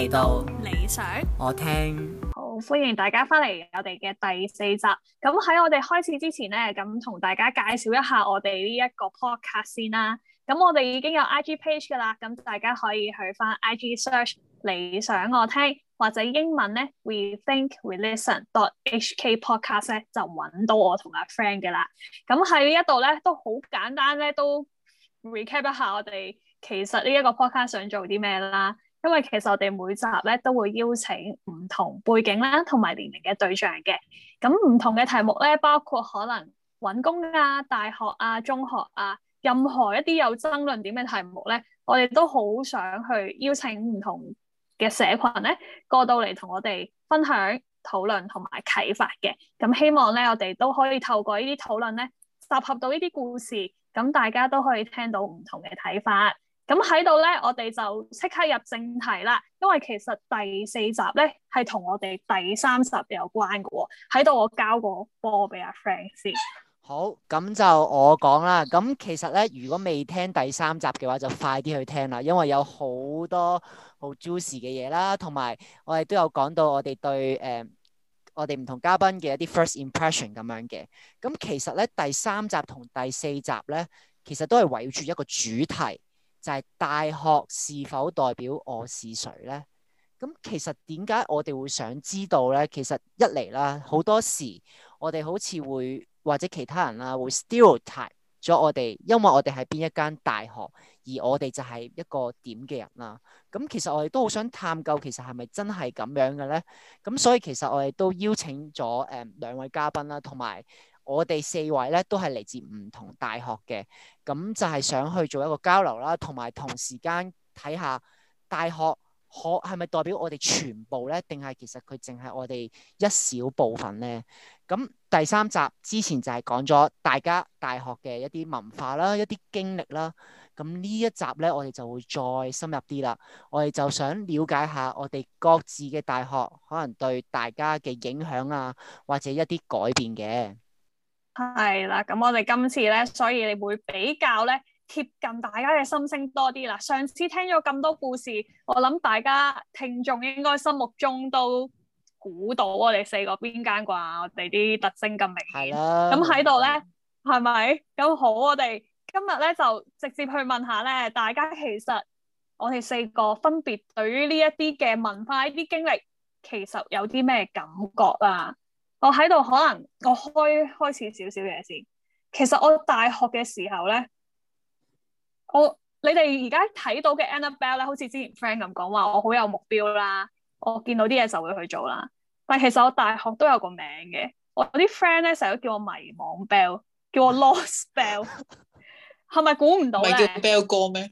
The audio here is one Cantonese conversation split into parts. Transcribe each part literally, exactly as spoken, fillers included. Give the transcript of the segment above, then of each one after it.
嚟到理想我聽。 好，歡迎大家翻嚟我哋嘅第四集。咁喺我哋開始之前咧，咁同大家介紹一下我哋呢一個 podcast 先啦。咁我哋已經有 I G page 噶啦，咁大家可以去翻 I G search 理想我聽，或者英文咧 We Think We Listen dot H K podcast 咧就揾到我同阿 friend 嘅啦。咁喺呢一度咧都好簡單咧，都 recap 一下我哋其實呢一個 podcast 想做啲咩啦。因為其實我哋每集咧都會邀請唔同背景啦，同埋年齡嘅對象嘅。咁唔同嘅題目咧，包括可能揾工啊、大學啊、中學啊，任何一啲有爭論點嘅題目咧，我哋都好想去邀請唔同嘅社群咧過到嚟同我哋分享、討論同埋啟發嘅。咁希望咧，我哋都可以透過呢啲討論咧，集合到呢啲故事，咁大家都可以聽到唔同嘅睇法。咁喺度咧，我哋就即刻入正題啦。因為其實第四集咧係同我哋第三集有關嘅喎。喺度我交個波俾阿 Frank 先。 好，咁就我講啦。咁其實咧，如果未聽第三集嘅話，就快啲去聽啦。因為有好多好 juicy 嘅嘢啦，同埋我哋都有講到我哋對誒、呃、我哋唔同嘉賓嘅一啲 first impression 咁樣嘅。咁其實咧，第三集同第四集咧，其實都係圍繞住一個主題。就係大學是否代表我是誰咧？咁其實點解我哋會想知道咧？其實一嚟啦，好多時我哋好似會或者其他人啦會 stereotype 咗我哋，因為我哋係邊一間大學，而我哋就係一個點嘅人啦。咁其實我哋都好想探究，其實係咪真係咁樣嘅咧？咁所以其實我哋都邀請咗誒兩位嘉賓啦，同埋我哋四位咧都係嚟自唔同大學嘅，咁就係想去做一個交流啦，同埋同時間睇下大學可係咪代表我哋全部咧，定係其實佢淨係我哋一小部分咧？咁第三集之前就係講咗大家大學嘅一啲文化啦，一啲經歷啦。咁呢一集咧，我哋就會再深入啲啦。我哋就想了解下我哋各自嘅大學可能對大家嘅影響啊，或者一啲改變嘅。 係啦，咁我哋今次咧，所以你會比較咧貼近大家嘅心聲多啲啦。上次聽咗咁多故事，我諗大家聽眾應該心目中都估到我哋四個邊間啩，我哋啲特徵咁明顯。咁喺度咧，係咪？咁好，我哋今日咧就直接去問下咧，大家其實我哋四個分別對於呢一啲嘅文化、呢啲經歷，其實有啲咩感覺啊？我喺度可能我開開始少少嘢先。其實我大學嘅時候咧，我你哋而家睇到嘅 Annabelle 咧，好似之前 friend 咁講話，我好有目標啦，我見到啲嘢就會去做啦。但係其實我大學都有個名嘅，我啲 friend 咧成日都叫我迷惘 Bell， 叫我 Lost Bell， 係咪估唔到咧？ 唔係叫 Bell 哥咩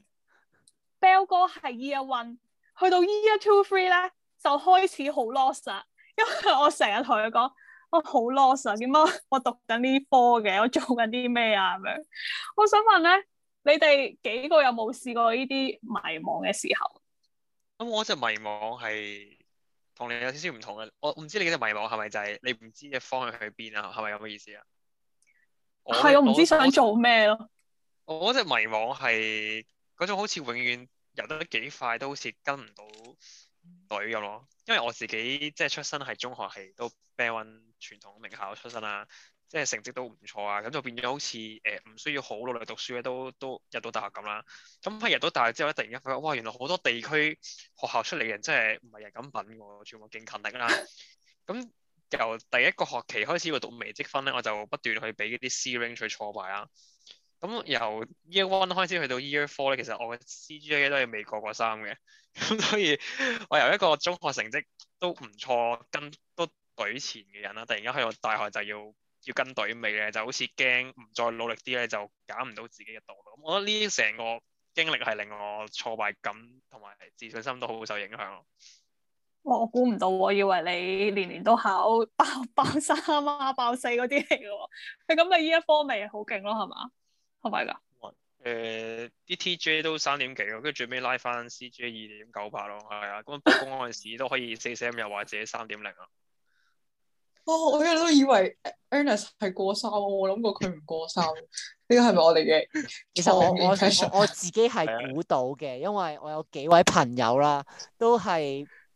？Bell 哥係 Year One， 去到 Year Two Three 咧就開始好 lost 啦，因為我成日同佢講。我好 lost 啊！點解我讀緊呢科嘅？我做緊啲咩啊？咁樣，我想問咧，你哋幾個有冇試過呢啲迷茫嘅時候？ 咁我隻迷茫係同你有少少唔同嘅。我唔知你嘅迷茫係咪就係你唔知嘅方向去邊啊？係咪咁嘅意思啊？ 係我唔知想做咩咯。 我隻迷茫係嗰種好似永遠游得幾快都好似跟唔到隊咁咯。因為我自己即係出身係中學係都 Band One 傳統名校出身啦，即係成績都唔錯啊，咁就變咗好似誒唔需要好努力讀書咧，都都入到大學咁啦。咁喺入到大學之後咧，突然間發覺哇，原來好多地區學校出嚟嘅人真係唔係人咁品喎，全部勁勤力啦。咁由第一個學期開始去讀微積分咧，我就不斷去俾啲 C range 去挫敗啦。咁由 Year One 開始去到 Year Four 咧，其實我嘅 C G A 都係未過過三嘅，咁所以我由一個中學成績都唔錯，跟都隊前嘅人啦，突然間去到大學就要要跟隊尾咧，就好似驚唔再努力啲咧，就揀唔到自己嘅道路。咁我覺得呢成個經歷係令我挫敗感同埋自信心都好受影響咯。 哇！我估唔到，我以為你年年都考爆爆三啊、爆四嗰啲嚟嘅喎。係咁，你呢一科咪好勁咯，係嘛？係咪㗎？ 誒，啲 T J 都三點幾咯，跟住最尾拉翻 C J 二點九八咯，係啊。咁報公嗰陣時都可以四 M 又或者三點零啊。 哦，我一路都以為 Ernest 係過三，我諗過佢唔過三。呢個係咪我哋嘅？ 其實我我我我自己係估到嘅，因為我有幾位朋友啦，都係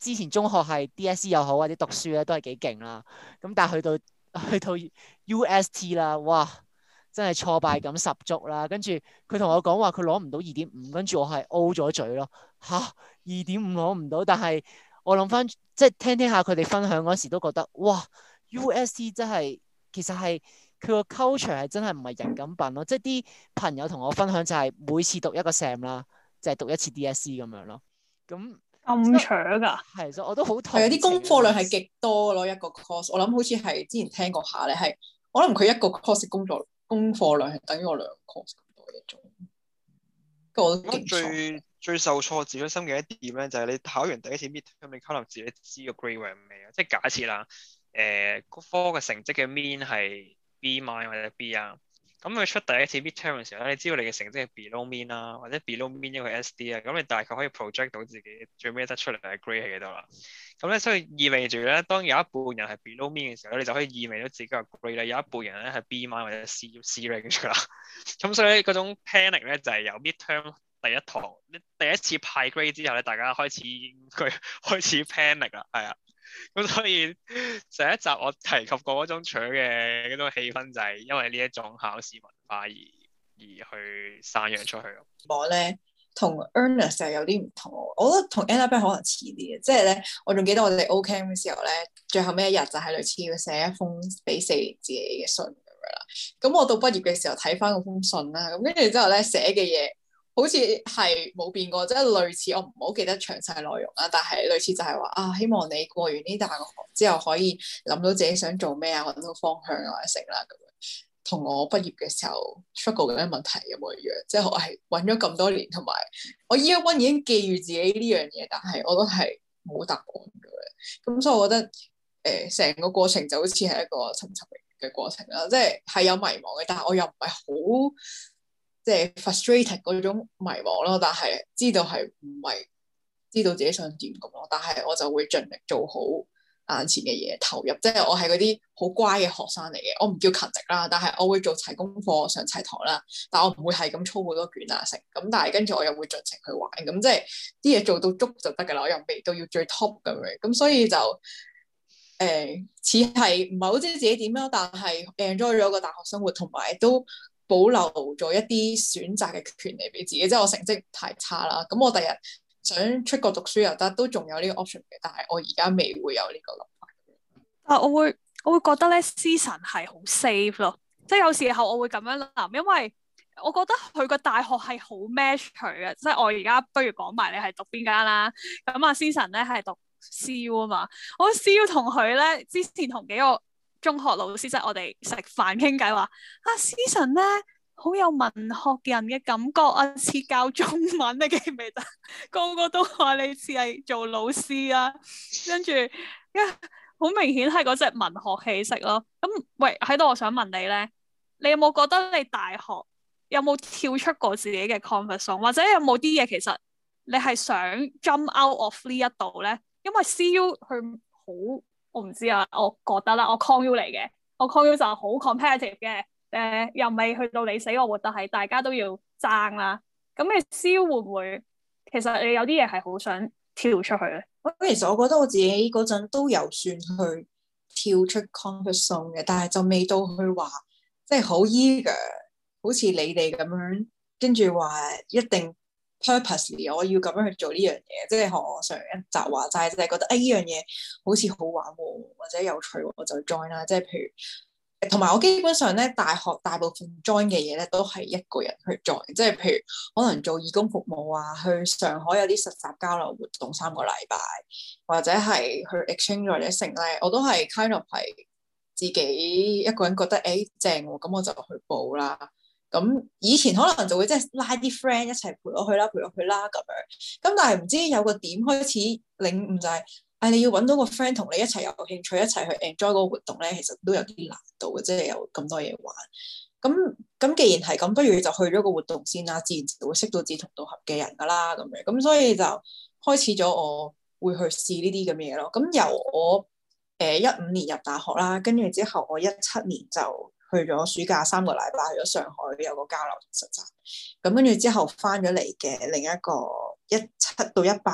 之前中學係 D S E 又好或者讀書咧都係幾勁啦。咁但係去到去到 U S T 啦，哇！真係挫敗感十足啦。跟住佢同我講話佢攞唔到二點五，跟住我係 O 咗嘴咯。吓，二點五攞唔到，但係我諗翻即係聽聽下佢哋分享嗰時都覺得哇 U S T 真係其實係佢個 culture 係真係唔係人咁笨咯。即係啲朋友同我分享就係每次讀一個 sem 啦，就係讀一次 D S E 咁樣咯。咁咁扯㗎？ 係，所以我都好同係啊，啲功課量係極多咯，一個 course。我諗好似係之前聽過下咧，係可能佢一個 course 工作功課量係等於我兩個 course 咁多嘢做。我都勁最最受挫自尊心嘅一點咧，就係你考完第一次 midterm，你可能自己知個 grade 係咩啊？即係假設啦，誒、呃，嗰科嘅成績嘅 mean 係 B minus 或者 B 啊。咁佢出第一次 midterm 嘅時候咧，你知道你嘅成績係 below mean 啦，或者 below mean 一個 S D 啊，咁你大概可以 project 到自己最尾得出嚟嘅 grade 係幾多啦。咁咧，所以意味住咧，當有一半人係 below mean 嘅時候咧，你就可以意味到自己嘅 grade 咧，有一半人咧係 B minus 或者 C C range 啦。咁所以嗰種 panic 咧就係、是、由 midterm 第一堂，你第一次派 grade 之後咧，大家開始佢開始 panic 啦，係啊。咁所以上一集我提及過嗰種搶嘅嗰種氣氛，就係因為呢一種考試文化而而去散揚出去咯。 我咧同 Ernest 就有啲唔同，我覺得同 Annabelle 可能似啲嘅，即係咧我仲記得我哋 O Camp 嘅時候咧，最後尾一日就係類似要寫一封俾四年自己嘅信咁樣啦。咁我到畢業嘅時候睇翻嗰封信啦，咁跟住之後咧寫嘅嘢好似係冇變過，即係類似，我唔好記得詳細內容啦，但係類似就係話啊，希望你過完呢大學之後可以諗到自己想做咩啊，揾到方向啊，或者成啦咁樣。同我畢業嘅時候 struggle 嘅問題有冇一樣？即係我係揾咗咁多年，同埋我 year one 已經記住自己呢樣嘢，但係我都係冇答案嘅。咁所以我覺得誒，成、呃、個過程就好似係一個尋尋嘅過程啦，即係係有迷茫嘅，但係我又唔係好。即係 frustrated 嗰種迷茫咯，但係知道係唔係知道自己想點咁咯，但係我就會盡力做好眼前嘅嘢，投入。即係我係嗰啲好乖嘅學生嚟嘅，我唔叫勤力啦，但係我會做齊功課、上齊堂啦，但我唔會係咁操好多卷啊成。咁但係跟住我又會盡情去玩，咁即係啲嘢做到足就得㗎啦，我又未到要最 top 咁樣，咁所以就誒似係唔係好知自己點啦，但係 enjoy 咗個大學生活，同埋都保留咗一啲選擇嘅權利俾自己，即係我成績太差啦，咁我第日想出國讀書又得，都仲有呢個 option 嘅，但係我而家未會有呢個諗法。 啊，我會我會覺得咧，Season 係好 safe 咯，即係有時候我會咁樣諗，因為我覺得佢個大學係好 match 佢嘅，即係我而家不如講埋你係讀邊間啦，咁啊 Season 咧係讀 C U 啊嘛，我 C U 同佢咧之前同幾個中學老師即係我哋食飯傾偈話啊 Season 咧好有文學人嘅感覺啊，似教中文你記唔記得？個個都話你似係做老師啊，跟住一好明顯係嗰隻文學氣息咯。咁喂喺度，我想問你咧，你有冇覺得你大學有冇跳出過自己嘅 comfort zone，或者有冇啲嘢其實你係想 jump out of 呢一度咧？因為 C U 佢好。我唔知啊，我覺得啦，我 Con U 嚟嘅，我 Con U 就好 competitive 嘅，誒、呃、又未去到你死我活，但係大家都要爭啦。咁你 C U 會唔會其實你有啲嘢係好想跳出去咧？ 咁其實我覺得我自己嗰陣都有算去跳出 comfort zone 嘅，但係就未到去話即係好 eager，好似你哋咁樣，跟住話一定。purposely 我要咁樣去做呢樣嘢，即係學我上一集話齋，就係覺得誒呢樣嘢好似好玩喎，或者有趣喎，我就 join 啦。即係譬如，同埋我基本上咧，大學大部分 join 嘅嘢咧都係一個人去 join，即係譬如可能做義工服務啊，去上海有啲實習交流活動三個禮拜，或者係去 exchange 或者成咧，我都係 kind of 係自己一個人覺得誒正喎，咁我就去報啦。咁以前可能就會即係拉啲 friend 一齊陪我去啦，陪我去啦咁樣。咁但係唔知有個點開始領悟就係、是，唉、哎、你要揾到個 friend 同你一齊有興趣，一齊去 enjoy 嗰個活動咧，其實都有啲難度嘅，即係有咁多嘢玩。咁咁既然係咁，不如就去咗個活動先啦，自然就會識到志同道合嘅人噶啦咁樣。咁所以就開始咗我會去試呢啲咁嘅嘢咯。咁由我誒一五年入大學啦，跟住之後我一七年就去咗暑假三個禮拜去咗上海有個交流實習，咁跟住之後翻咗嚟嘅另一個一七到一八年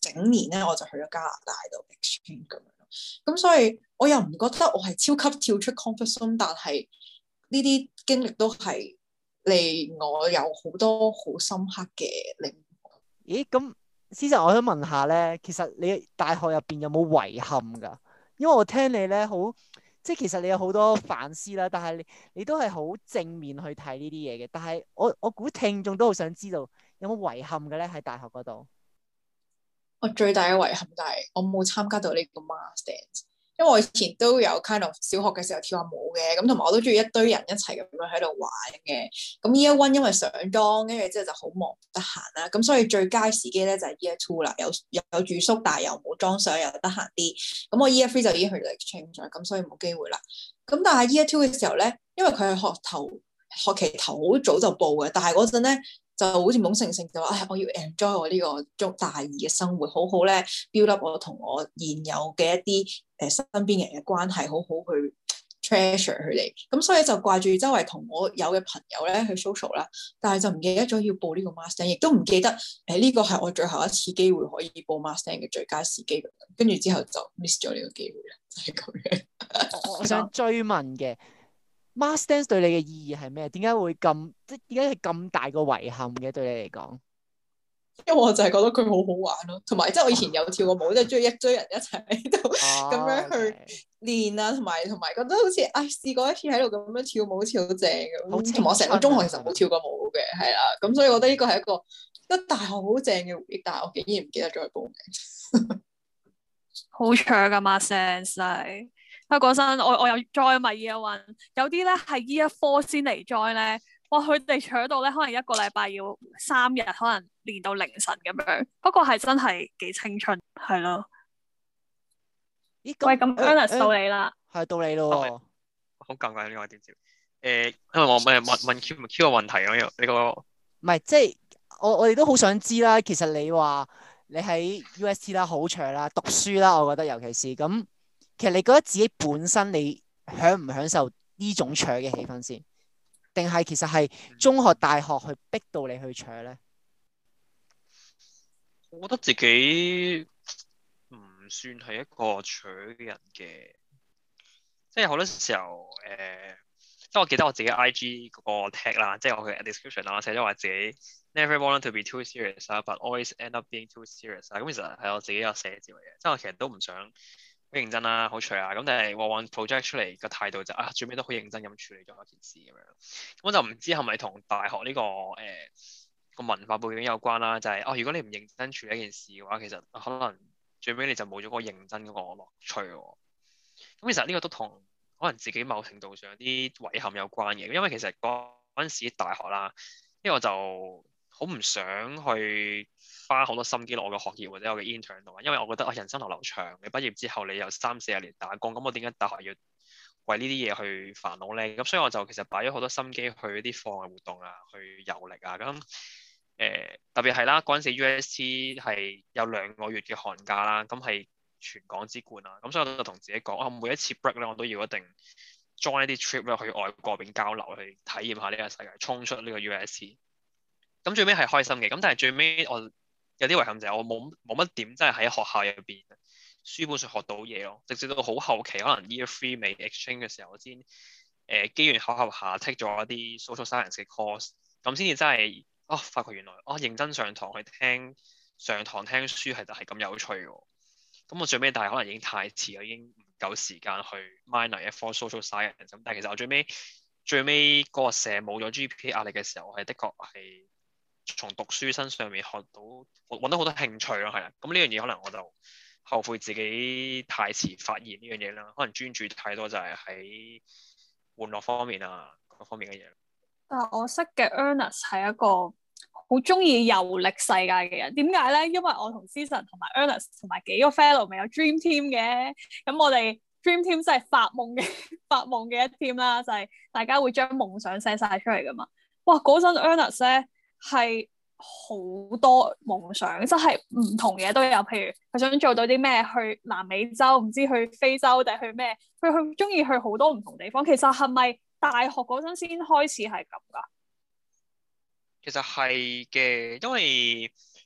整年咧我就去咗加拿大度 exchange 咁樣咯。咁所以我又唔覺得我係超級跳出 comfort zone，但係呢啲經歷都係令我有好多好深刻嘅領悟。 咦？咁思辰，我想問下咧，其實你大學入邊有冇遺憾㗎？因為我聽你咧好，即係其實你有好多反思啦，但係你你都係好正面去睇呢啲嘢嘅。但係我我估聽眾都好想知道有冇遺憾嘅咧喺大學嗰度。 我最大嘅遺憾就係我冇參加到呢個 mass dance，因為我以前都有 kind of 小學嘅時候跳下舞嘅，咁同埋我都中意一堆人一齊咁樣喺度玩嘅。咁 year one 因為上莊，跟住之後就好忙唔得閒啦，咁所以最佳時機咧就係 year two 啦，有有有住宿，但係又冇裝上，又得閒啲。咁我 year three 就已經去到 exchange 咗，咁所以冇機會啦。咁但係 year two 嘅時候咧，因為佢係學頭學期頭好早就報嘅，但係嗰陣咧。就好似懵盛盛就話，唉，我要 enjoy 我呢個中大二嘅生活，好好咧 build up 我同我現有嘅一啲誒、呃、身邊人嘅關係，好好去 treasure 佢哋。咁所以就掛住周圍同我有嘅朋友咧去 social 啦，但係就唔記得咗要報呢個 master，亦都唔記得誒呢、呃這個係我最後一次機會可以報 master 嘅最佳時機，跟住之後就 miss 咗呢個機會啦，就係、是、咁樣。 我想追問嘅。Mass dance 對你嘅意義係咩？點解會咁即係點解係咁大個遺憾嘅對你嚟講？ 因為我就係覺得佢好好玩咯，同埋即係我以前有跳過舞，即係中意一堆人一齊喺度咁樣去練啊，同埋同埋覺得好似唉試過一次喺度咁樣跳舞好似好正咁，同埋我成個中學其實冇跳過舞嘅，係啦，咁所以我覺得呢個係一個一個大學好正嘅回憶，但係我竟然唔記得咗去報名。 好長噶 Mass dance 係。啊！嗰陣我我有 join 埋 year one，有啲咧係 year four 先嚟 join 咧，哇！佢哋搶到咧，可能一個禮拜要三日，可能練到凌晨咁樣。不過係真係幾青春，係咯。 咦？ 喂，咁 Ernest 到你啦， 係到你咯。 好尷尬呢個點接？誒，因為我問問問 Q 問 Q 個問題咁樣，呢個唔係即係我我哋都好想知啦。其實你話你喺 U S T 啦，好長啦，讀書啦，我覺得尤其是咁。其實你覺得自己本身你享唔享受呢種搶嘅氣氛先，定係其實係中學、大學去逼到你去搶咧？ 我覺得自己唔算係一個搶嘅人嘅，即係好多時候誒、呃，即係我記得我自己 I G 嗰個 tag 啦，即係我嘅 description 啦，我寫咗話自己 never want to be too serious 啦，but always end up being too serious 啦。咁其實係我自己有寫字嚟嘅，即係我其實都唔想。好認真啦，好隨啊，咁但係往往 project 出嚟個態度就啊，最尾都好認真咁處理咗一件事咁樣。咁我就唔知係咪同大學呢、這個誒個、呃、文化背景有關啦，就係、是、哦，如果你唔認真處理一件事嘅話，其實可能最尾你就冇咗嗰個認真嗰個樂趣喎。咁其實呢個都同可能自己某程度上有啲遺憾有關嘅，因為其實嗰陣時大學啦，因為我就好唔想去花好多心機落我嘅學業或者我嘅 intern 度，因為我覺得啊，人生流流長，你畢業之後你有三四十年打工，咁我點解大學要為呢啲嘢去煩惱咧？咁所以我就其實擺咗好多心機去一啲課外活動啊，去遊歷啊，咁誒、呃、特別係啦，嗰陣時 U S T 係有兩個月嘅寒假啦，咁係全港之冠啊，咁所以我就同自己講啊，每一次 break 咧，我都要一定 join 一啲 trip 咧去外國邊交流，去體驗下呢個世界，衝出呢個 U S T。咁最尾係開心嘅，咁但係最尾我有啲遺憾就係我冇冇乜點真係喺學校入邊書本上學到嘢咯，直至到好後期可能 year three 未 exchange 嘅時候，我先誒機緣巧合下 take 咗一啲 social science 嘅 course，咁先至真係哦發覺原來哦認真上堂去聽上堂聽書係就係咁有趣喎。咁我最尾但係可能已經太遲啦，已經唔夠時間去 minor 一科 social science，咁但係其實我最尾最尾嗰個社冇咗 G P A 壓力嘅時候，我係的確係從讀書身上面學到揾到好多興趣咯，係啦。咁呢樣嘢可能我就後悔自己太遲發現呢樣嘢啦，可能專注太多就係喺玩樂方面啊各方面嘅嘢。 但係我識嘅 Ernest 係一個好中意遊歷世界嘅人。點解咧？因為我同思辰同埋 Ernest 同埋幾個 fellow 咪有 dream team 嘅。咁我哋 dream team 真係發夢嘅發夢嘅一 team 啦，就係、是、大家會將夢想寫晒出嚟噶嘛。哇！嗰陣 Ernest 咧係好多夢想，即係唔同嘢都有。譬如佢想做到啲咩，去南美洲，唔知去非洲定去咩？佢去中意去好多唔同地方。其實係咪大學嗰陣先開始係咁噶？ 其實係嘅，因為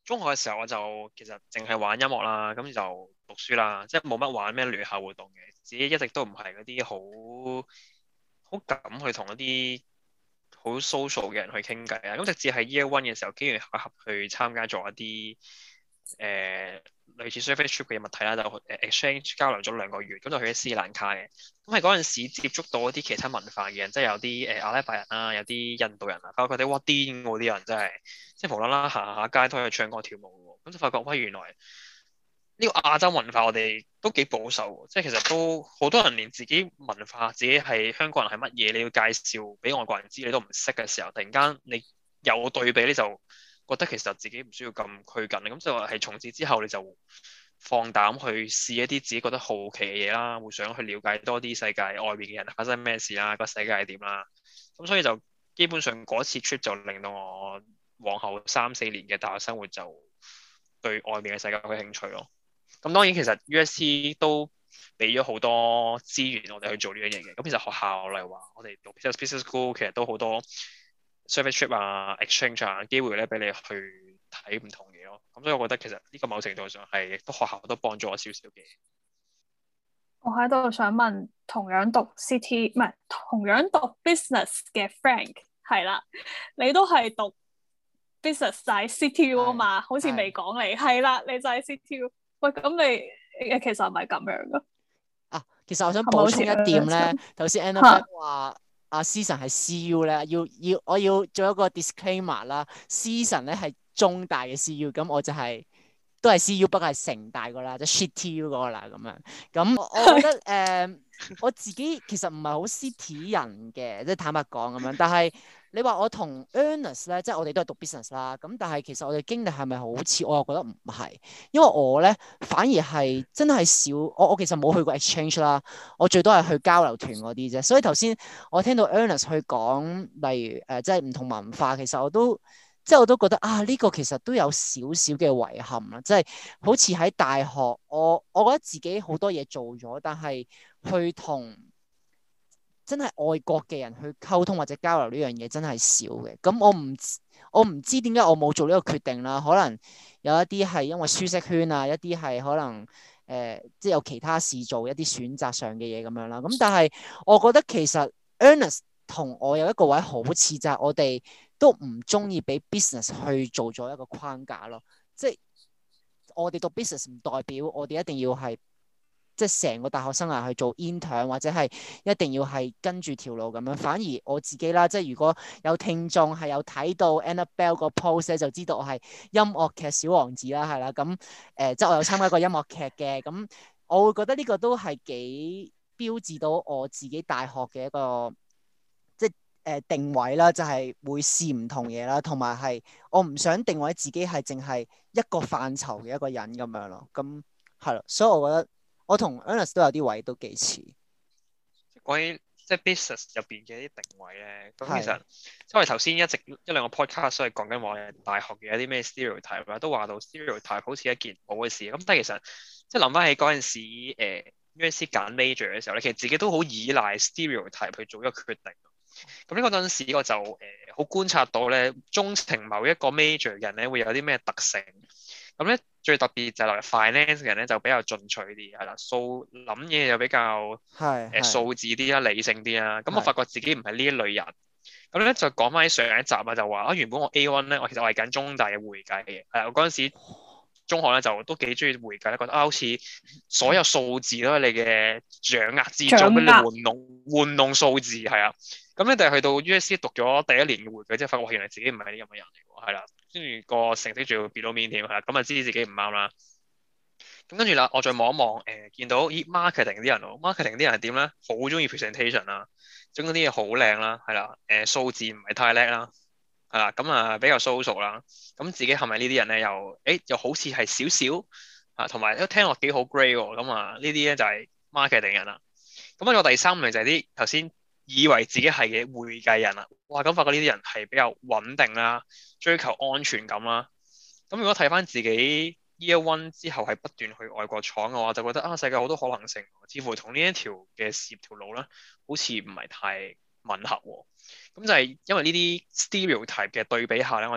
中學嘅時候我就其實淨係玩音樂啦，咁就讀書啦，即係冇乜玩咩聯校活動嘅，自己一直都唔係嗰啲好好敢去同一啲好 social 嘅人去傾偈啊。咁直至係 year one 嘅時候，機緣巧合去參加咗一啲誒、呃、類似 surface trip 嘅物體啦，就誒 exchange 交流咗兩個月，咁就去咗斯里蘭卡嘅。咁係嗰陣時接觸到一啲其他文化嘅人，即係有啲誒、呃、阿拉伯人啦，有啲印度人啊，發覺佢哋哇癲嗰啲人真係，即係無啦啦行下街都可以唱歌跳舞喎。咁就發覺喂，原來呢個亞洲文化我哋都幾保守喎，即係其實都好多人連自己文化、自己係香港人係乜嘢，你要介紹俾外國人知，你都唔識嘅時候，突然間你有對比，你就覺得其實自己唔需要咁拘謹。咁就係從此之後，你就放膽去試一啲自己覺得好奇嘅嘢啦，會想去了解多啲世界外面嘅人發生咩事啦，個世界係點啦。咁所以就基本上嗰次 trip 就令到我往後三四年嘅大學生活就對外面嘅世界有興趣咯。咁當然其實 U S C 都俾咗好多資源我哋去做呢樣嘢嘅。咁其實學校例如話我哋讀 business school 其實都好多 survey trip 啊、exchange 啊機會咧俾你去睇唔同嘢咯。咁所以我覺得其實呢個某程度上係亦都學校都幫咗我少少嘅。 我喺度想問，同樣讀 city 唔係同樣讀 business 嘅 Frank 係啦，你都係讀 business 就係 C T U 啊嘛，好似未講你係啦，你就係 C T U。喂，咁你誒其實係咪咁樣噶？ 啊，其實我想補充一點咧，頭先 Annabelle 話阿 Season 係 C U 咧，要要我要做一個 disclaimer 啦。Season 咧係中大嘅 C U，咁我就係、是、都係 C U，不過係城大個啦，即、就、係、是、Shit T U 嗰個啦咁樣。咁我覺得誒、呃，我自己其實唔係好 City 人嘅，即係坦白講咁樣，但係。你話我同 Ernest 咧，即係我哋都係讀 business 啦，咁但係其實我哋經歷係咪好似？我又覺得唔係，因為我咧反而係真係少，我我其實冇去過 exchange 啦，我最多係去交流團嗰啲啫。所以頭先我聽到 Ernest 去講，例如誒、呃、即係唔同文化，其實我都即係我都覺得啊，呢、這個其實都有少少嘅遺憾啦，即係好似喺大學，我我覺得自己好多嘢做咗，但係去同真係外國嘅人去溝通或者交流呢樣嘢真係少嘅，咁我唔我唔知點解我冇做呢個決定啦。可能有一啲係因為舒適圈啊，一啲係可能誒、呃、即係有其他事做，一啲選擇上嘅嘢咁樣啦。咁但係我覺得其實 Ernest 同我有一個位好似，就係我哋都唔中意俾 business 去做咗一個框架咯。即係我哋讀 business 唔代表我哋一定要係。即係成個大學生涯去做 intern 或者係一定要係跟住條路咁樣，反而我自己啦，即係如果有聽眾係有睇到 Annabelle 個 post 咧，就知道我係音樂劇小王子啦，係啦，咁誒、呃，即係我有參加過音樂劇嘅，咁我會覺得呢個都係幾標誌到我自己大學嘅一個即係誒、呃、定位啦，就係、是、會試唔同嘢啦，同埋係我唔想定位自己係淨係一個範疇嘅一個人咁樣咯，咁係咯，所以我覺得。我同 Ernest 都有啲位都幾似。 關於即係 business 入邊嘅一啲定位咧，咁其實因為頭先一直一兩個 podcast 都係講緊話大學嘅一啲咩 stereotype 啦，都話到 stereotype 好似一件好嘅事。咁但係其實即係諗翻起嗰陣時，誒、呃、U S C 揀 major 嘅時候咧，其實自己都好依賴 stereotype 去做一個決定。咁呢個陣時我就誒好、呃、觀察到咧，鍾情某一個 major 人咧會有啲咩特性。咁咧最特別就係例如 finance 嘅人咧就比較進取啲，係啦，數諗嘢又比較係誒數字啲啦，理性啲啦。咁我發覺自己唔係呢一類人。咁咧就講翻喺上一集啊，就話啊原本我 A one 咧，我其實我係緊中大嘅會計嘅。係我嗰陣時中學咧就都幾中意會計咧，覺得啊好似所有數字都係你嘅掌握之中，俾你玩弄玩弄數字係啊。咁咧但係去到 U S C 讀咗第一年嘅會計之後，發覺我原來自己唔係啲咁嘅人嚟喎，係啦。跟住個成績仲要 below mean 添，係啦，咁啊知自己唔啱啦。咁跟住啦，我再望一望，誒、呃、見到咦 marketing 啲人喎 ，marketing 啲人係點咧？好中意 presentation 啦，整嗰啲嘢好靚啦，係啦，誒、呃、數字唔係太叻啦，係啦，咁啊比較 social 啦。咁自己係咪呢啲人咧？又誒又好似係少少啊，同埋都聽落幾好 grey 喎。咁啊呢啲咧就係 marketing 人啦。咁啊我第三名就係啲頭先以為自己係嘅會計人啦。哇！咁發覺呢啲人係比較穩定啦。追求安全感啦，咁如果睇翻自己 year one 之後係不斷去外國闖嘅話，就覺得啊世界好多可能性，似乎同呢一條嘅事業條路咧，好似唔係太吻合喎。咁就係因為呢啲 stereotype 嘅對比下咧，我就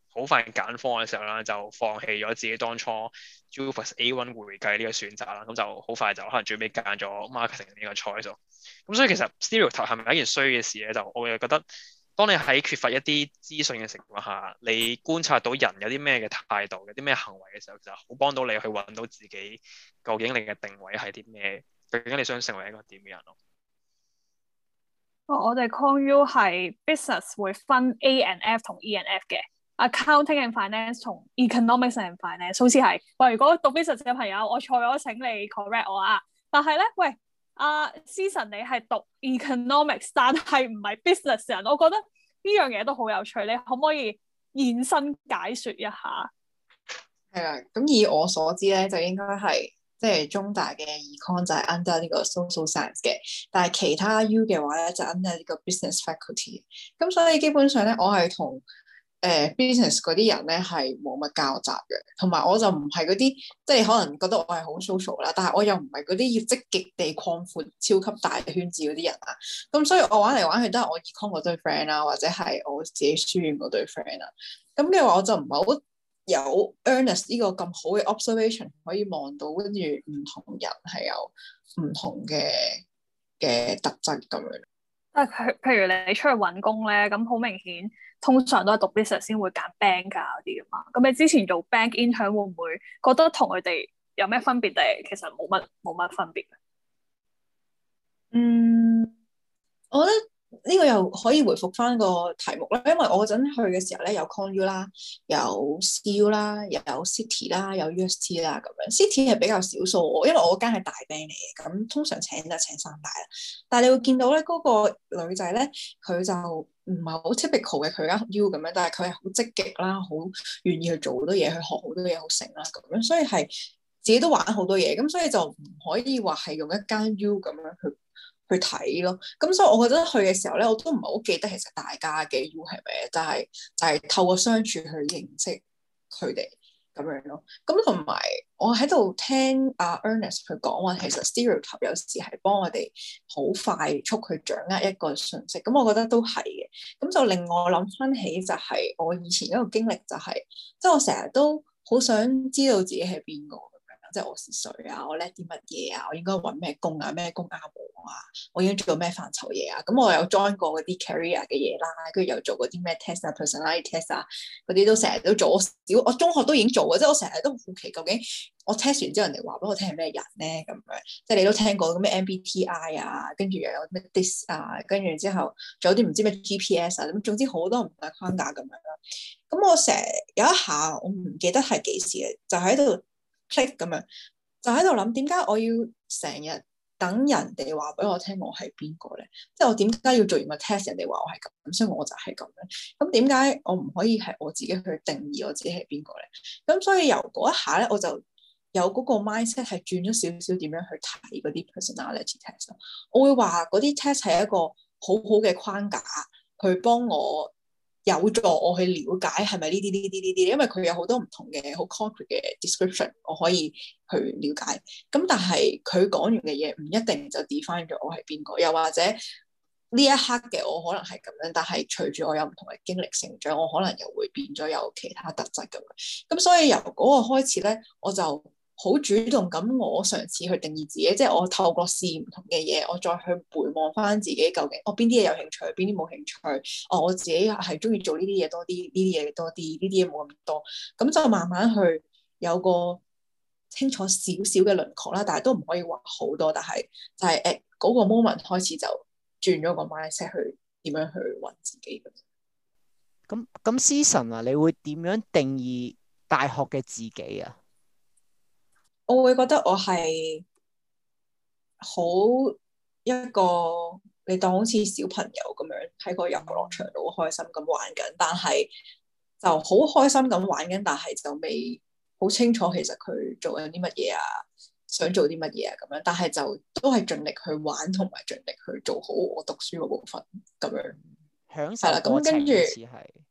好快揀科嘅時候啦，就放棄咗自己當初 JUPAS A 一會計呢個選擇啦，咁就好快就可能最尾揀咗 marketing 呢個 choice。咁所以其實 stereotype 係咪一件衰嘅事咧？就我會覺得，當你喺缺乏一啲資訊嘅情況下，你觀察到人有啲咩嘅態度、有啲咩行為嘅時候，就好幫到你去揾到自己究竟你嘅定位係啲咩，究竟你想成為一個點嘅人咯。 哦，我哋 Con U 係 business 會分 A and F 同 E and F 嘅 ，accounting and finance 同 economics and finance 好似係。喂，如果讀 business 嘅朋友，我錯咗請你 correct 我啊。但係咧，喂，阿、uh, Season 你係讀 economics，但係唔係 business 人，我覺得呢樣嘢都好有趣。你可唔可以現身解說一下？ 係啦，咁以我所知咧，就應該係。即係中大嘅 econ 就係 under 呢個 social science 嘅，但係其他 U 嘅話咧就 under 呢個 business faculty。咁所以基本上咧，我係同誒 business 嗰啲人咧係冇乜交集嘅，同埋我就唔係嗰啲即係可能覺得我係好 social 啦，但係我又唔係嗰啲要積極地擴闊超級大圈子嗰啲人啊。咁所以我玩嚟玩去都係我 econ 嗰堆 friend 啦，或者係我自己書院嗰堆 friend 啦。咁嘅話我就唔係好有 Ernest 呢個咁好嘅 observation 可以望到，跟住唔同人係有唔同嘅嘅特質咁樣。 但係譬如你出去揾工咧，咁好明顯，通常都係讀 business 先會揀 bank 啊嗰啲噶嘛。咁你之前做 bank intern 會唔會覺得同佢哋有咩分別？定係其實冇乜冇乜分別？ 嗯，我覺得。呢個又可以回覆翻個題目啦，因為我嗰陣去嘅時候咧，有 Con U 啦，有 C U 啦，又有 City 啦，有 U S T 啦咁樣。City 係比較少數，因為我嗰間係大 band 嚟嘅，咁通常請就請三大啦。但係你會見到咧，嗰、嗰個女仔咧，佢就唔係好 typical 嘅佢間 U 咁樣，但係佢係好積極啦，好願意去做好多嘢，去學好多嘢，好成啦咁樣，所以係自己都玩好多嘢，咁所以就唔可以話係用一間 U 咁樣去。去睇咯，咁所以我覺得去嘅時候咧，我都唔係好記得其實大家嘅 U 係咩，就係就係透過相處去認識佢哋咁樣咯。咁同埋我喺度聽阿 Ernest 佢講話，其實 stereotype 有時係幫我哋好快速去掌握一個信息，咁我覺得都係嘅。咁就令我諗翻起就係我以前一個經歷，就係即係我成日都好想知道自己係邊個。即係我是誰啊？我叻啲乜嘢啊？我應該揾咩工啊？咩工啱我啊？我應該做咩範疇嘢啊？咁我有 join 過嗰啲 career 嘅嘢啦，跟住又做嗰啲咩 test 啊、personality test 啊，嗰啲都成日都做。我小我中學都已經做嘅，即係我成日都好奇究竟我 test 完之後人哋話俾我聽係咩人咧咁樣。即係你都聽過咁咩 M B T I 啊，跟住又有咩 dis 啊，跟住之後仲有啲唔知咩 G P S 啊，咁總之好多唔同嘅框架咁樣啦。咁我成日有一下我唔記得係幾時嘅，就喺度。click 咁樣，就喺度諗點解我要成日等人哋話俾我聽我係邊個咧？即係我點解要做完個 test 人哋話我係咁，所以我就係咁咧？咁點解我唔可以係我自己去定義我自己係邊個咧？咁所以由嗰一下咧，我就有嗰個 mindset 係轉咗少少點樣去睇嗰啲 personality test。我會話嗰啲 test 係一個好好嘅框架，去幫我。有助我去了解係咪呢啲呢啲呢啲，因為佢有好多唔同嘅好 concrete 嘅 description，我可以去了解。咁但係佢講完嘅嘢唔一定就 define 咗我係邊個，又或者呢一刻嘅我可能係咁樣，但係隨住我有唔同嘅經歷成長，我可能又會變咗有其他特質咁樣。咁所以由嗰個開始咧，我就好主動咁，我嘗試去定義自己，即係我透過試唔同嘅嘢，我再去回望翻自己究竟我邊啲嘢有興趣，邊啲冇興趣。哦，我自己係中意做呢啲嘢多啲，呢啲嘢多啲，呢啲嘢冇咁多。咁就慢慢去有個清楚少少嘅輪廓啦，但係都唔可以話好多。但係就係誒嗰個 moment 開始就轉咗個 mindset 去點樣去揾自己咁。 咁咁 Season 啊，你會點樣定義大學嘅自己啊？ 我會覺得我係好一個你當好似小朋友咁樣喺個遊樂場度好開心咁玩緊，但係就好開心咁玩緊，但係就未好清楚其實佢做緊啲乜嘢啊，想做啲乜嘢啊咁樣，但係就都係盡力去玩同埋盡力去做好我讀書嗰部分咁樣。 享受過程似係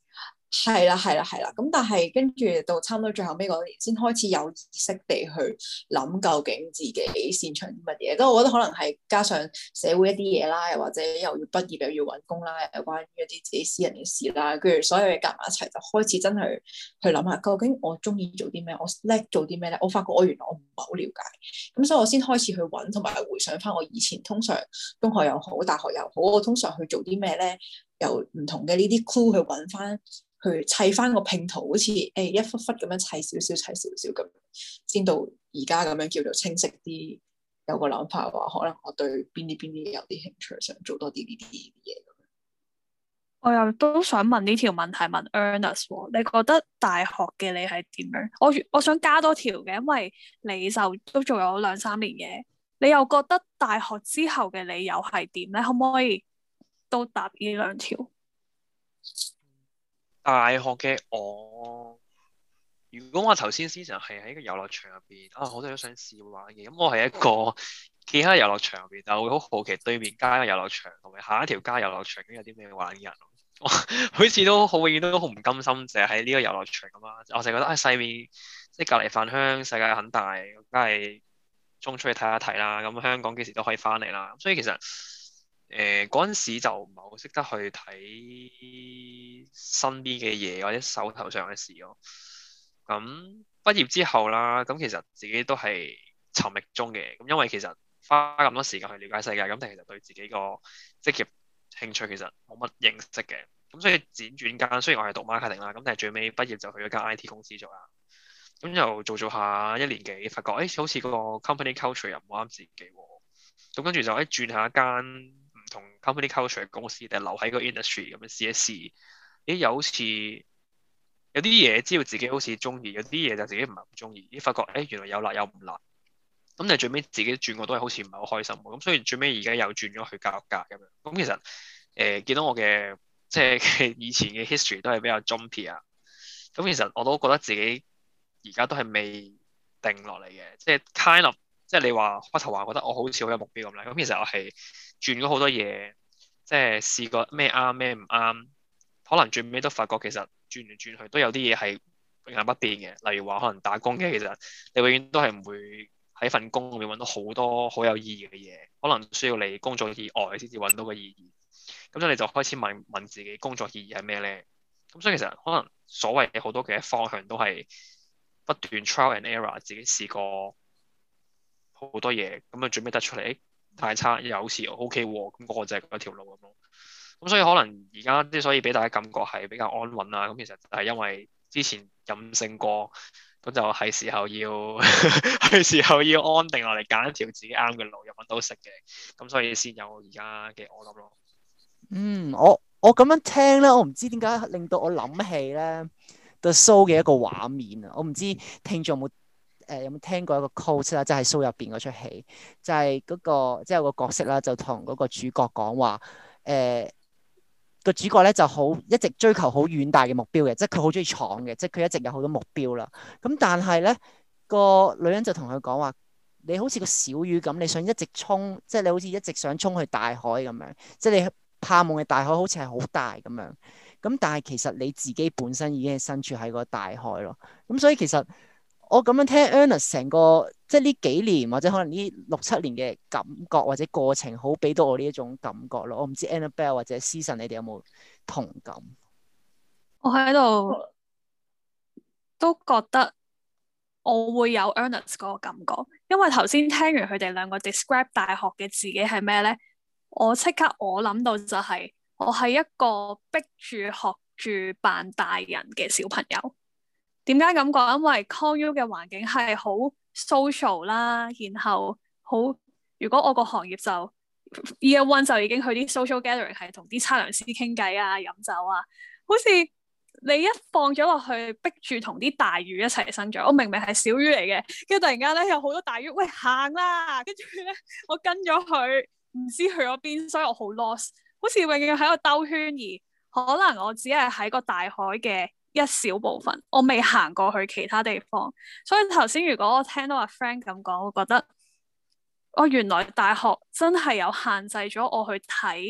係啦，係啦，係啦。咁但係跟住到差唔多最後尾嗰年，先開始有意識地去諗究竟自己擅長啲乜嘢。都我覺得可能係加上社會一啲嘢啦，又或者又要畢業又要揾工啦，又關於一啲自己私人嘅事啦，跟住所有嘢夾埋一齊，就開始真係去諗下究竟我中意做啲咩，我叻做啲咩咧？我發覺我原來我唔係好了解，咁所以我先開始去揾，同埋回想翻我以前通常中學又好，大學又好，我通常去做啲咩咧？由唔同嘅呢啲 clue 去揾翻。去砌翻個拼圖，好似誒、欸、一忽忽咁樣砌少少，砌少少咁，先到而家咁樣叫做清晰啲，有個諗法話，可能我對邊啲邊啲有啲興趣，想做多啲呢啲嘢。 我又都想問呢條問題問 Ernest， 你覺得大學嘅你係點樣？我我想加多條嘅，因為你就都做咗兩三年嘢，你又覺得大學之後嘅你又係點咧？可唔可以都答呢兩條？ 大學嘅我，如果我頭先思想係喺個遊樂場入邊啊，好多人都想試玩嘅，咁我係一個企喺遊樂場入邊，但係會好好奇對面街嘅遊樂場同埋下一條街遊樂場咁有啲咩玩嘅人，我好似都好永遠都好唔甘心，淨係喺呢個遊樂場咁啊！我成日覺得啊，世面即係隔離飯香，世界很大，梗係衝出去睇下睇啦。咁香港幾時都可以翻嚟啦。所以其實〜誒嗰陣時就唔係好識得去睇身邊嘅嘢或者手頭上嘅事咯。咁畢業之後啦，咁其實自己都係尋覓中嘅。咁因為其實花咁多時間去了解世界，咁但係其實對自己個職業興趣其實冇乜認識嘅。咁所以輾轉間，雖然我係讀 marketing 啦，咁但係最尾畢業就去咗間 I T 公司做啦。咁又做做下一年幾，發覺誒、欸、好似個 company culture 又唔啱自己喎。咁跟住就誒轉下一間同 company culture 嘅公司，定係留喺個 industry 咁樣試一試，咦又好似有啲嘢知道自己好似中意，有啲嘢就自己唔係咁中意，咦發覺誒原來有辣有唔辣，咁但係最尾自己轉過都係好似唔係好開心，咁所以最尾而家又轉咗去教育界咁樣，咁其實誒、呃、見到我嘅即係以前嘅 history 都係比較 jumpy 啊，咁其實我都覺得自己而家都係未定落嚟嘅，即係 kind of 即係你話開頭話覺得我好似好有目標咁咧，咁其實我係轉咗好多嘢，即係試過咩啱咩唔啱，可能最尾都發覺其實轉嚟轉去都有啲嘢係永恆不變嘅。例如話可能打工嘅，其實你永遠都係唔會喺份工入面揾到好多好有意義嘅嘢，可能需要你工作以外先至揾到個意義。咁所以你就開始問問自己工作意義係咩咧？咁所以其實可能所謂嘅好多嘅方向都係不斷 trial and error， 自己試過好多嘢，咁啊最尾得出嚟，誒太差又好似 OK 喎，咁嗰個就係嗰條路咁咯。咁所以可能而家之所以俾大家感覺係比較安穩啦，咁其實係因為之前任性過，咁就係時候要係時候要安定落嚟揀一條自己啱嘅路，又揾到食嘅，咁所以先有而家嘅我諗咯。 嗯，我我咁樣聽咧，我唔知點解令到我諗起咧 The Show 嘅一個畫面啊！我唔知聽眾有冇誒有冇聽過一個 quote 啦，即係 Show 入邊嗰出戲，就係嗰個即係有個角色啦，就同嗰個主角講話誒個主角咧就好一直追求好遠大嘅目標嘅，即係佢好中意闖嘅，即係佢一直有好多目標啦。咁但係咧個女人就同佢講話，你好似個小魚咁，你想一直衝，即係你好似一直想衝去大海咁樣，即係你盼望嘅大海好似係好大咁樣。咁但係其實你自己本身已經係身處喺個大海咯。咁所以其實我咁樣聽 Ernest 成個即係呢幾年或者可能呢六七年嘅感覺或者過程，好俾到我呢一種感覺咯。我唔知 Annabelle 或者 Season 你哋有冇同感？ 我喺度都覺得我會有 Ernest 嗰個感覺，因為頭先聽完佢哋兩個 describe 大學嘅自己係咩咧，我即刻我諗到就係我係一個逼住學住扮大人嘅小朋友。點解咁講？因為 Con U 嘅環境係好 social 啦，然後好，如果我個行業就 Year One 就已經去啲 social gathering 係同啲測量師傾偈啊、飲酒啊，好似你一放咗落去，逼住同啲大魚一齊生長。我明明係小魚嚟嘅，跟住突然間咧有好多大魚，喂行啦！跟住咧我跟咗佢，唔知去咗邊，所以我好 lost， 好似永遠喺度兜圈，而可能我只係喺個大海嘅一小部分，我未行過去其他地方。所以頭先如果我聽到阿 Frank 咁講，我覺得我原來大學真係有限制咗我去睇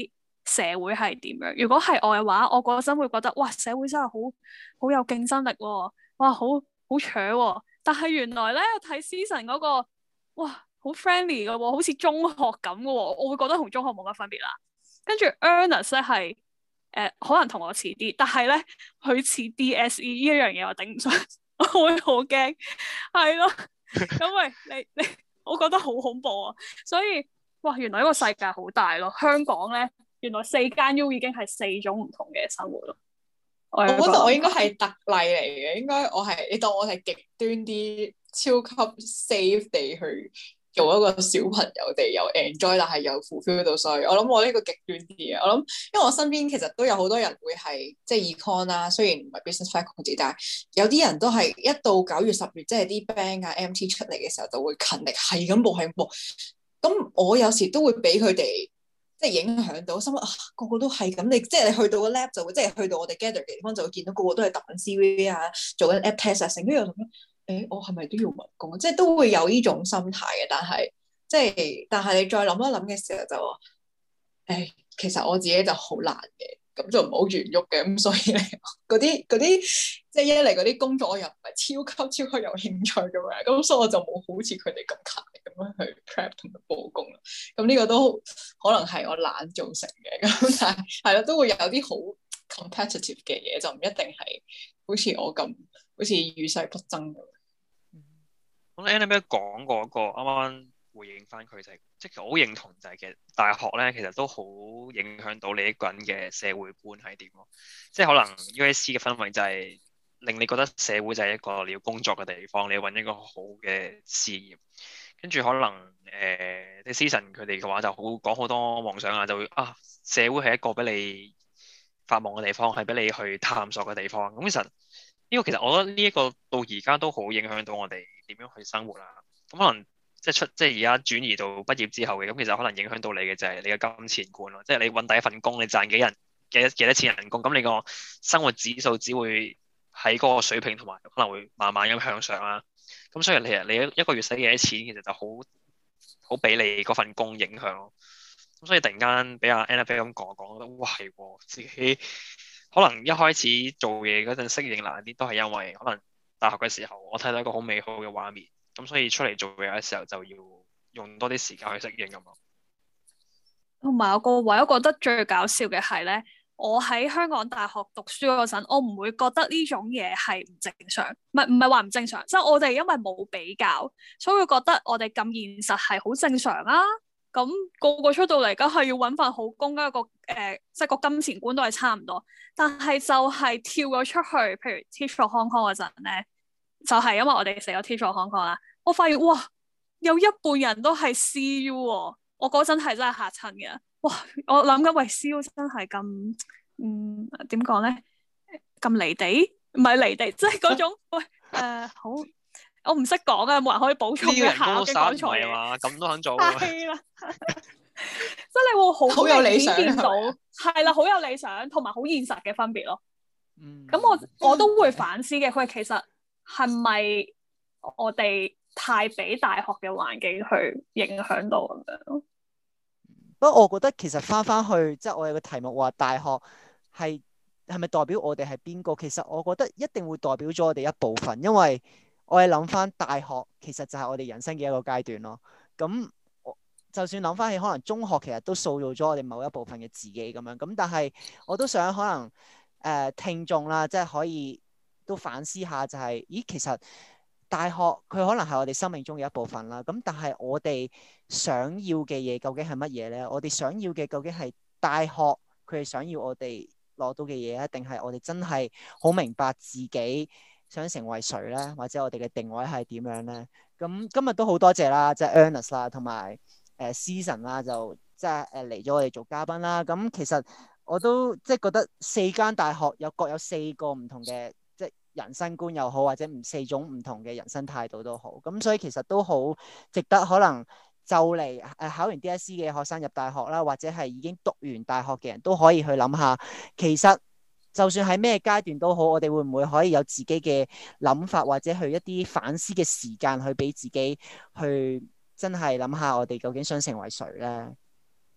社會係點樣。如果係我嘅話，我嗰陣會覺得哇，社會真係好好有競爭力喎、哦，哇，好好搶喎。但係原來咧睇 season 嗰個，哇，好 friendly 嘅喎，好似中學咁嘅喎，我會覺得同中學冇乜分別啦。跟住 Ernest 咧係誒可能同我似啲，但係咧佢似 D S E 呢一樣嘢我頂唔順，我會好驚，係咯，因為你你我覺得好恐怖啊，所以哇原來呢個世界好大咯，香港咧原來四間 U 已經係四種唔同嘅生活咯。我覺得我應該係特例嚟嘅，應該我係你當我係極端啲，超級 safe 地去做一個小朋友哋又 enjoy，但係又 fulfill 到，所以我諗我呢個極端啲嘅。我諗因為我身邊其實都有好多人會係即係 econ 啦，雖然唔係 business faculty，但係有啲人都係一到九月十月，即係啲 band 啊 M T 出嚟嘅時候就會勤力係咁報係咁報。咁我有時都會俾佢哋即係影響到，心諗啊個個都係咁，你即係你去到個 lab 就會，即係去到我哋 gather 嘅地方就會見到個個都係揼緊 C V 啊，做緊 app test 啊，成跟住我諗誒，我係咪都要揾工？即係都會有呢種心態嘅，但係即係但係你再諗一諗嘅時候就話誒，其實我自己就好難嘅。咁就唔好圓喐嘅，咁所以咧嗰啲嗰啲即係一嚟嗰啲工作我又唔係超級超級有興趣咁樣，咁所以我就冇好似佢哋咁勤力咁樣去 prep 同埋報工啦。咁呢個都可能係我懶造成嘅，咁但係係咯，都會有啲好 competitive 嘅嘢，就唔一定係好似我咁好似與世不爭咁。 咁 Annabelle 講過一個啱啱回應翻佢就係，即係其實我好認同就係其實大學咧其實都好影響到你一個人嘅社會觀係點咯。即係可能 U S C 嘅氛圍就係令你覺得社會就係一個你要工作嘅地方，你要揾一個好嘅事業。跟住可能誒，啲 season 佢哋嘅話就好講好多夢想啊，就會啊社會係一個俾你發夢嘅地方，係俾你去探索嘅地方。咁其實呢個其實我覺得呢一個到而家都好影響到我哋點樣去生活啦。咁可能即係出即係而家轉移到畢業之後嘅，咁其實可能影響到你嘅就係你嘅金錢觀咯。即係你揾第一份工，你賺幾人幾多幾多錢人工，咁你個生活指數只會喺嗰個水平，同埋可能會慢慢咁向上啦。咁所以你你一個月使幾多錢，其實就好好俾你嗰份工影響咯。咁所以突然間俾阿 Annabelle 咁講講，覺得哇係喎，自己可能一開始做嘢嗰陣適應難啲，都係因為可能大學嘅時候我睇到一個好美好嘅畫面，咁所以出嚟做嘢嘅時候就要用多啲時間去適應咁咯。 同埋我個位，我覺得最搞笑嘅係咧，我喺香港大學讀書嗰陣，我唔會覺得呢種嘢係唔正常，唔係唔係話唔正常，即係我哋因為冇比較，所以會覺得我哋咁現實係好正常啊。咁個個出到嚟，梗係要揾份好工，一個誒，即係個金錢觀都係差唔多。但係就係跳咗出去，譬如 Teach for Hong Kong 嗰陣咧，就係因為我哋成咗 Teach for Hong Kong 啦，我發現哇，有一半人都係 C U 喎。我嗰陣係真係嚇親嘅，哇！我諗緊喂 C U 真係咁，嗯點講咧？咁離地，唔係離地，即係嗰種喂誒、呃、好，我唔識講啊，冇人可以補充一下嘅講錯嘢嘛？咁都肯做啊？係啦，即係你會好好有理想見到，係啦，好有理想，同埋好現實嘅分別咯。嗯，咁我我都會反思嘅，佢其實係咪我哋太俾大學嘅環境去影響到咁樣？ 不過我覺得其實翻翻去，即係我有個題目話大學係係咪代表我哋係邊個？其實我覺得一定會代表咗我哋一部分，因為我係諗翻大學其實就係我哋人生嘅一個階段咯。咁我就算諗翻起可能中學其實都塑造咗我哋某一部分嘅自己咁樣。咁但係我都想可能誒、呃、聽眾啦，即係可以都反思下、就係，就係咦其實大學佢可能係我哋生命中嘅一部分啦。咁但係我哋想要嘅嘢究竟係乜嘢咧？我哋想要嘅究竟係大學佢哋想要我哋攞到嘅嘢啊，定係我哋真係好明白自己想成為誰咧？或者我哋嘅定位係點樣咧？咁今日都好多謝啦，即係 Ernest 啦，同埋誒 Season 啦，就即係誒嚟咗我哋做嘉賓啦。咁其實我都即係覺得四間大學有各有四個唔同嘅即係人生觀又好，或者唔四種唔同嘅人生態度都好。咁所以其實都好值得可能就嚟誒考完 D S E 嘅學生入大學啦，或者係已經讀完大學嘅人都可以去諗下，其實就算喺咩階段都好，我哋會唔會可以有自己嘅諗法，或者去一啲反思嘅時間去俾自己去真係諗下我哋究竟想成為誰咧？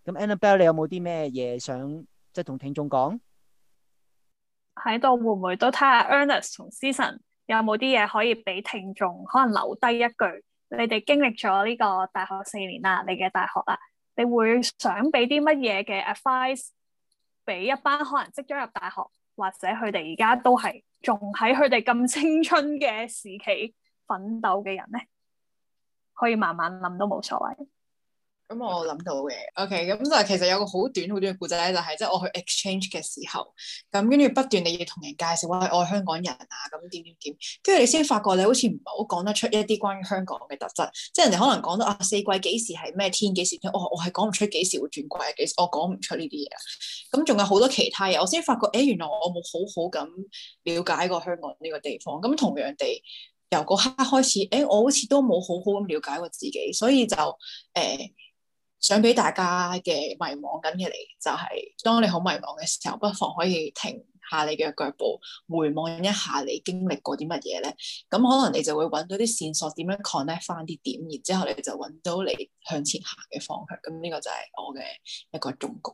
咁 Annabelle 你有冇啲咩嘢想即係同聽眾講？ 喺度會唔會都睇下 Ernest 同 Season 有冇啲嘢可以俾聽眾可能留低一句？你哋經歷咗呢個大學四年啦，你嘅大學啦，你會想俾啲乜嘢嘅 advice 俾一班可能即將入大學，或者佢哋而家都係仲喺佢哋咁青春嘅時期奮鬥嘅人咧？可以慢慢諗都冇所謂。 咁我諗到嘅，OK，咁就其實有個好短好短嘅故仔咧，就係即係我去 exchange 嘅時候，咁跟住不斷你要同人介紹話我係香港人啊，咁點點點，跟住你先發覺你好似唔係好講得出一啲關於香港嘅特質，即係人哋可能講到啊四季幾時係咩天幾時天，我我係講唔出幾時會轉季啊，幾時我講唔出呢啲嘢啊，咁仲有好多其他嘢，我先發覺誒原來我冇好好咁了解過香港呢個地方，咁同樣地由嗰刻開始，誒我好似都冇好好咁了解過自己，所以就誒。呃想俾大家嘅迷惘緊嘅你，就係、是、當你好迷惘嘅時候，不妨可以停下你嘅腳步，回望一下你經歷過啲乜嘢咧。咁可能你就會揾到啲線索，點樣 connect 翻啲點，然之後你就揾到你向前行嘅方向。咁呢個就係我嘅一個忠告。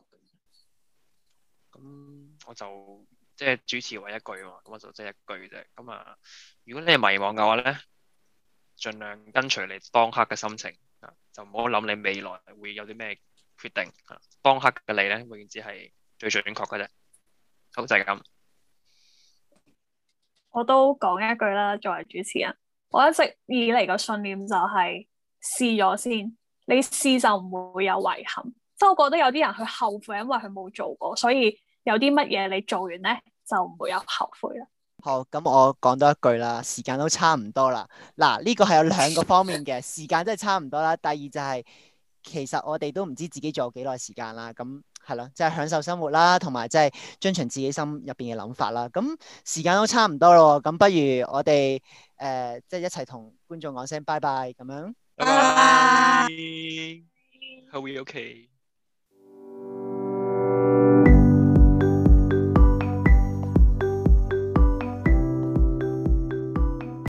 咁我就即係、就是、主持為一句嘛，咁我就即係一句啫。咁啊，如果你係迷惘嘅話咧，盡量跟隨你當刻嘅心情。就唔好諗你未來會有啲咩決定，當刻嘅你咧，永遠只係最準確嘅啫。好，就係咁。 我都講一句啦，作為主持人，我一直以嚟個信念就係試咗先，你試就唔會有遺憾。即係我覺得有啲人佢後悔，因為佢冇做過，所以有啲乜嘢你做完咧就唔會有後悔啦。 好，咁我講多一句啦，時間都差唔多啦。嗱，呢個係有兩個方面嘅，時間真係差唔多啦。第二就係、是，其實我哋都唔知自己仲有幾耐時間啦。咁係咯，即係、就是、享受生活啦，同埋即係遵循自己心入邊嘅諗法啦。咁時間都差唔多咯，咁不如我哋誒即係一齊同觀眾講聲拜拜咁樣。 拜拜。Are we okay?